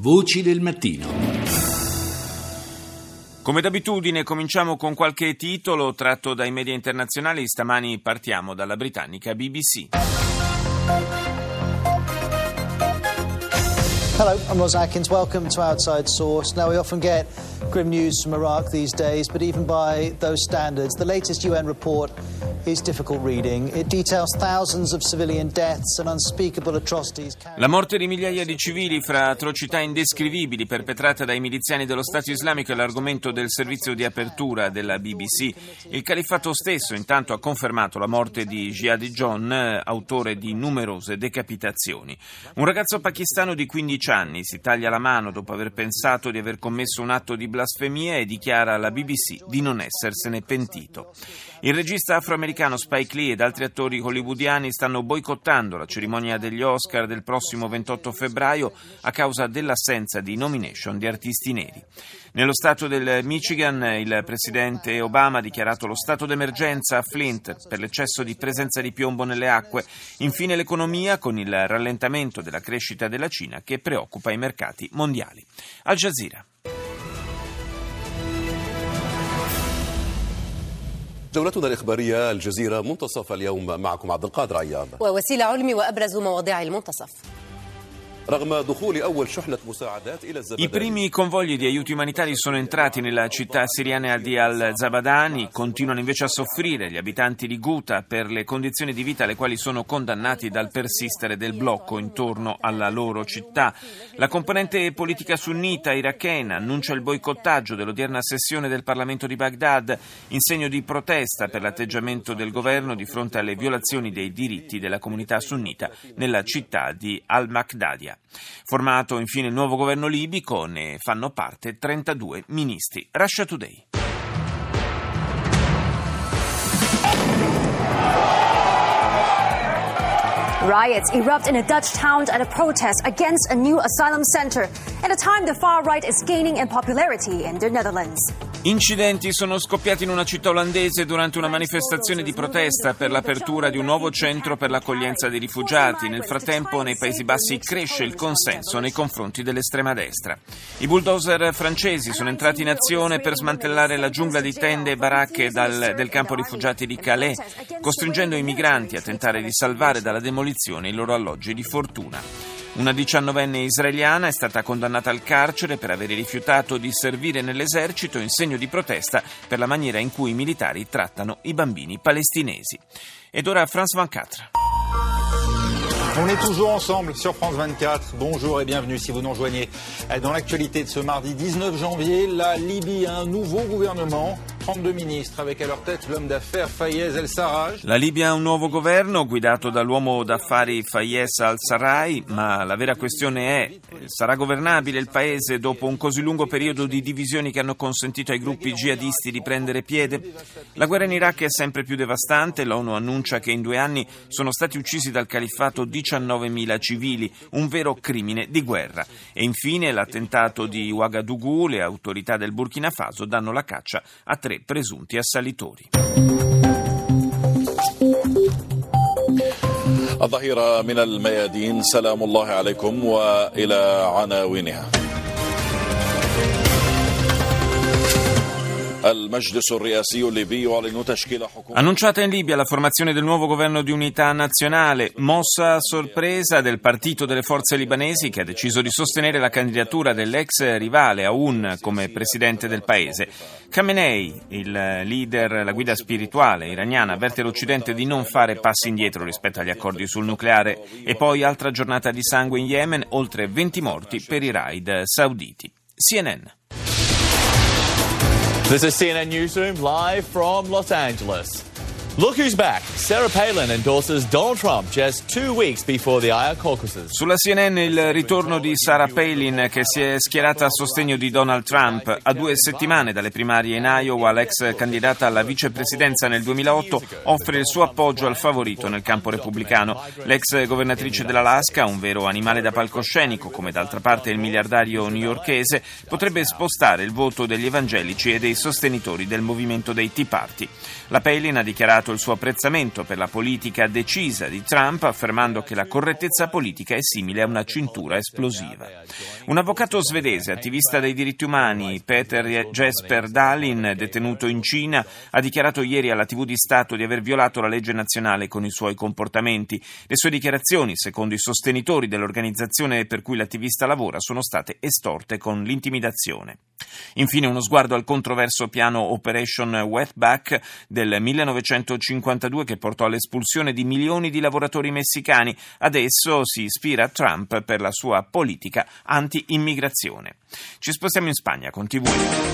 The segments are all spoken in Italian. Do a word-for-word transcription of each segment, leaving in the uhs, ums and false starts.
Voci del mattino. Come d'abitudine cominciamo con qualche titolo tratto dai media internazionali. Stamani partiamo dalla britannica B B C. Hello, I'm Ross Atkins. Welcome to Outside Source. Now, we often get grim news from Iraq these days, but even by those standards, the latest U N report is difficult reading. It details thousands of civilian deaths and unspeakable atrocities. La morte di migliaia di civili fra atrocità indescrivibili perpetrate dai miliziani dello Stato Islamico è l'argomento del servizio di apertura della B B C. Il califfato stesso intanto ha confermato la morte di Jihad John, autore di numerose decapitazioni. Un ragazzo pakistano di quindici anni si taglia la mano dopo aver pensato di aver commesso un atto di blasfemia e dichiara alla B B C di non essersene pentito. Il regista afroamericano Spike Lee ed altri attori hollywoodiani stanno boicottando la cerimonia degli Oscar del prossimo ventotto febbraio a causa dell'assenza di nomination di artisti neri. Nello stato del Michigan il presidente Obama ha dichiarato lo stato d'emergenza a Flint per l'eccesso di presenza di piombo nelle acque. Infine l'economia con il rallentamento della crescita della Cina che preoccupa i mercati mondiali. Al Jazeera. جولتنا الإخبارية الجزيرة منتصف اليوم معكم عبد القادر عياض ووسيلة علمي وأبرز مواضيع المنتصف. I primi convogli di aiuti umanitari sono entrati nella città siriana di Al-Zabadani, continuano invece a soffrire gli abitanti di Ghouta per le condizioni di vita alle quali sono condannati dal persistere del blocco intorno alla loro città. La componente politica sunnita irachena annuncia il boicottaggio dell'odierna sessione del Parlamento di Baghdad in segno di protesta per l'atteggiamento del governo di fronte alle violazioni dei diritti della comunità sunnita nella città di Al-Maqdadia. Formato infine il nuovo governo libico, ne fanno parte trentadue ministri. Russia Today. Riots erupt in a Dutch town at a protest against a new asylum center at a time the far right is gaining in popularity in the Netherlands. Incidenti sono scoppiati in una città olandese durante una manifestazione di protesta per l'apertura di un nuovo centro per l'accoglienza dei rifugiati. Nel frattempo nei Paesi Bassi cresce il consenso nei confronti dell'estrema destra. I bulldozer francesi sono entrati in azione per smantellare la giungla di tende e baracche dal, del campo rifugiati di Calais, costringendo i migranti a tentare di salvare dalla demolizione i loro alloggi di fortuna. Una diciannovenne israeliana è stata condannata al carcere per aver rifiutato di servire nell'esercito in segno di protesta per la maniera in cui i militari trattano i bambini palestinesi. Ed ora France ventiquattro. On est toujours ensemble sur France vingt-quatre. Bonjour et bienvenue si vous nous rejoignez. Dans l'actualité de ce mardi dix-neuf janvier, la Libye a un nouveau gouvernement, trentadue ministres, avec à leur tête l'homme d'affaires Fayez El-Sarraj. La Libia ha un nuovo governo guidato dall'uomo d'affari Fayez al-Sarraj, ma la vera questione è: sarà governabile il paese dopo un così lungo periodo di divisioni che hanno consentito ai gruppi jihadisti di prendere piede? La guerra in Iraq è sempre più devastante. L'ONU annuncia che in due anni sono stati uccisi dal califfato diciannovemila civili, un vero crimine di guerra. E infine l'attentato di Ouagadougou, le autorità del Burkina Faso danno la caccia a tre presunti assalitori. الظهيرة من الميادين سلام الله عليكم وإلى عناوينها. Annunciata in Libia la formazione del nuovo governo di unità nazionale, mossa a sorpresa del partito delle forze libanesi che ha deciso di sostenere la candidatura dell'ex rivale Aoun come presidente del paese. Khamenei, il leader, la guida spirituale iraniana, avverte l'Occidente di non fare passi indietro rispetto agli accordi sul nucleare. E poi altra giornata di sangue in Yemen, oltre venti morti per i raid sauditi. C N N. This is C N N Newsroom live from Los Angeles. Look who's back. Sarah Palin endorses Donald Trump just two weeks before the Iowa caucuses. Sulla C N N il ritorno di Sarah Palin che si è schierata a sostegno di Donald Trump. A due settimane dalle primarie in Iowa, l'ex candidata alla vicepresidenza nel duemilaotto offre il suo appoggio al favorito nel campo repubblicano. L'ex governatrice dell'Alaska, un vero animale da palcoscenico, come d'altra parte il miliardario newyorkese, potrebbe spostare il voto degli evangelici e dei sostenitori del movimento dei Tea Party. La Palin ha dichiarato dichiarato il suo apprezzamento per la politica decisa di Trump, affermando che la correttezza politica è simile a una cintura esplosiva. Un avvocato svedese, attivista dei diritti umani, Peter Jesper Dahlin, detenuto in Cina, ha dichiarato ieri alla tivù di Stato di aver violato la legge nazionale con i suoi comportamenti. Le sue dichiarazioni, secondo i sostenitori dell'organizzazione per cui l'attivista lavora, sono state estorte con l'intimidazione. Infine uno sguardo al controverso piano Operation Wetback del millenovecentocinquantadue che portò all'espulsione di milioni di lavoratori messicani. Adesso si ispira a Trump per la sua politica anti-immigrazione. Ci spostiamo in Spagna con T V.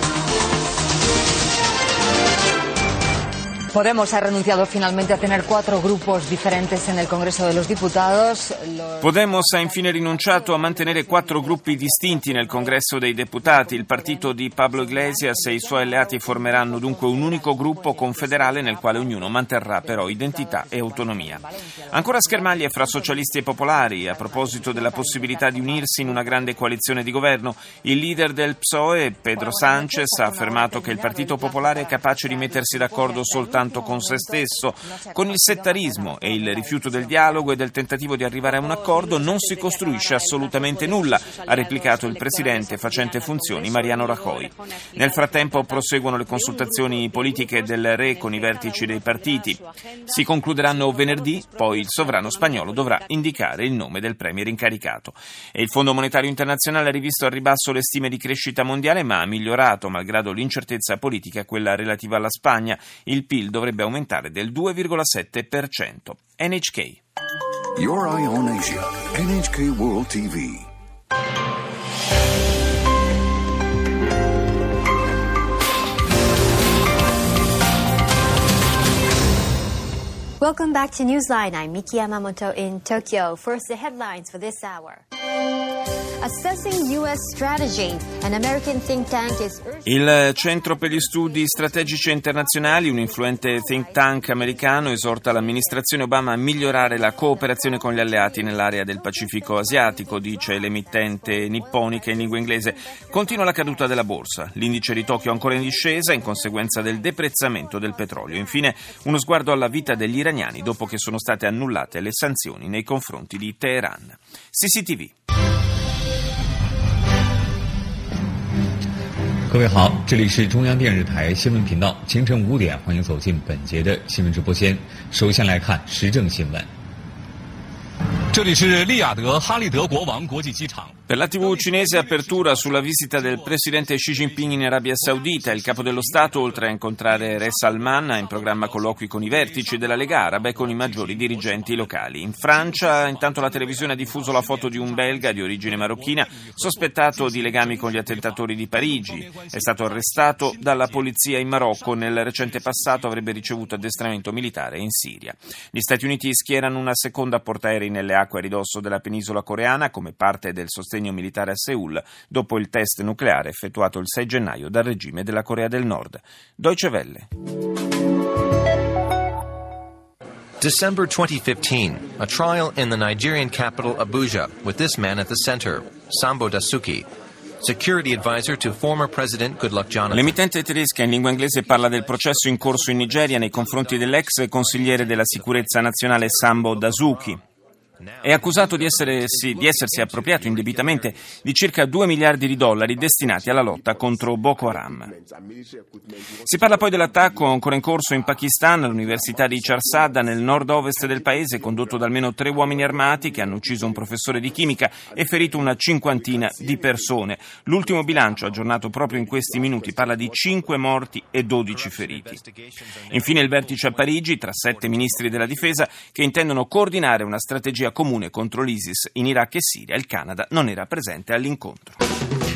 Podemos ha renunciado finalmente a tener cuatro grupos diferentes en el Congreso de los Diputados. Los... Podemos ha infine rinunciato a mantenere quattro gruppi distinti nel Congresso dei Deputati. Il partito di Pablo Iglesias e i suoi alleati formeranno dunque un unico gruppo confederale nel quale ognuno manterrà però identità e autonomia. Ancora schermaglie fra socialisti e popolari. A proposito della possibilità di unirsi in una grande coalizione di governo, il leader del P S O E, Pedro Sánchez, ha affermato che il Partito Popolare è capace di mettersi d'accordo soltanto con se stesso. Con il settarismo e il rifiuto del dialogo e del tentativo di arrivare a un accordo non si costruisce assolutamente nulla, ha replicato il presidente facente funzioni Mariano Rajoy. Nel frattempo proseguono le consultazioni politiche del Re con i vertici dei partiti. Si concluderanno venerdì, poi il sovrano spagnolo dovrà indicare il nome del premier incaricato. E il Fondo Monetario Internazionale ha rivisto al ribasso le stime di crescita mondiale, ma ha migliorato, malgrado l'incertezza politica, quella relativa alla Spagna. Il P I L dovrebbe aumentare del due virgola sette per cento. N H K. Your Eye on Asia. N H K World T V. Welcome back to Newsline. I'm Miki Yamamoto in Tokyo. First, the headlines for this hour. Assessing U S strategy, an American think tank is urging... Il Centro per gli Studi Strategici Internazionali, un influente think tank americano, esorta l'amministrazione Obama a migliorare la cooperazione con gli alleati nell'area del Pacifico asiatico, dice l'emittente nipponica in lingua inglese. Continua la caduta della borsa. L'indice di Tokyo è ancora in discesa in conseguenza del deprezzamento del petrolio. Infine, uno sguardo alla vita degli iraniani dopo che sono state annullate le sanzioni nei confronti di Teheran. C C T V. 各位好，这里是中央电视台新闻频道，清晨五点，欢迎走进本节的新闻直播间。首先来看时政新闻。这里是利雅得哈利德国王国际机场。 Per la tivù cinese apertura sulla visita del presidente Xi Jinping in Arabia Saudita. Il capo dello Stato, oltre a incontrare Re Salman, ha in programma colloqui con i vertici della Lega Araba e con i maggiori dirigenti locali. In Francia, intanto, la televisione ha diffuso la foto di un belga di origine marocchina sospettato di legami con gli attentatori di Parigi. È stato arrestato dalla polizia in Marocco. Nel recente passato avrebbe ricevuto addestramento militare in Siria. Gli Stati Uniti schierano una seconda portaerei nelle acque a ridosso della penisola coreana come parte del sostegno militare a Seul dopo il test nucleare effettuato il sei gennaio dal regime della Corea del Nord. Deutsche Welle. December twenty fifteen, a trial in the Nigerian capital Abuja with this man at the center, Sambo Dasuki, security advisor to former President Goodluck Jonathan. L'emittente tedesca in lingua inglese parla del processo in corso in Nigeria nei confronti dell'ex consigliere della sicurezza nazionale Sambo Dasuki. È accusato di, essere, sì, di essersi appropriato indebitamente di circa due miliardi di dollari destinati alla lotta contro Boko Haram. Si parla poi dell'attacco ancora in corso in Pakistan all'università di Charsadda nel nord-ovest del paese, condotto da almeno tre uomini armati che hanno ucciso un professore di chimica e ferito una cinquantina di persone. L'ultimo bilancio, aggiornato proprio in questi minuti, parla di cinque morti e dodici feriti. Infine il vertice a Parigi tra sette ministri della difesa che intendono coordinare una strategia comune contro l'ISIS in Iraq e Siria. Il Canada non era presente all'incontro.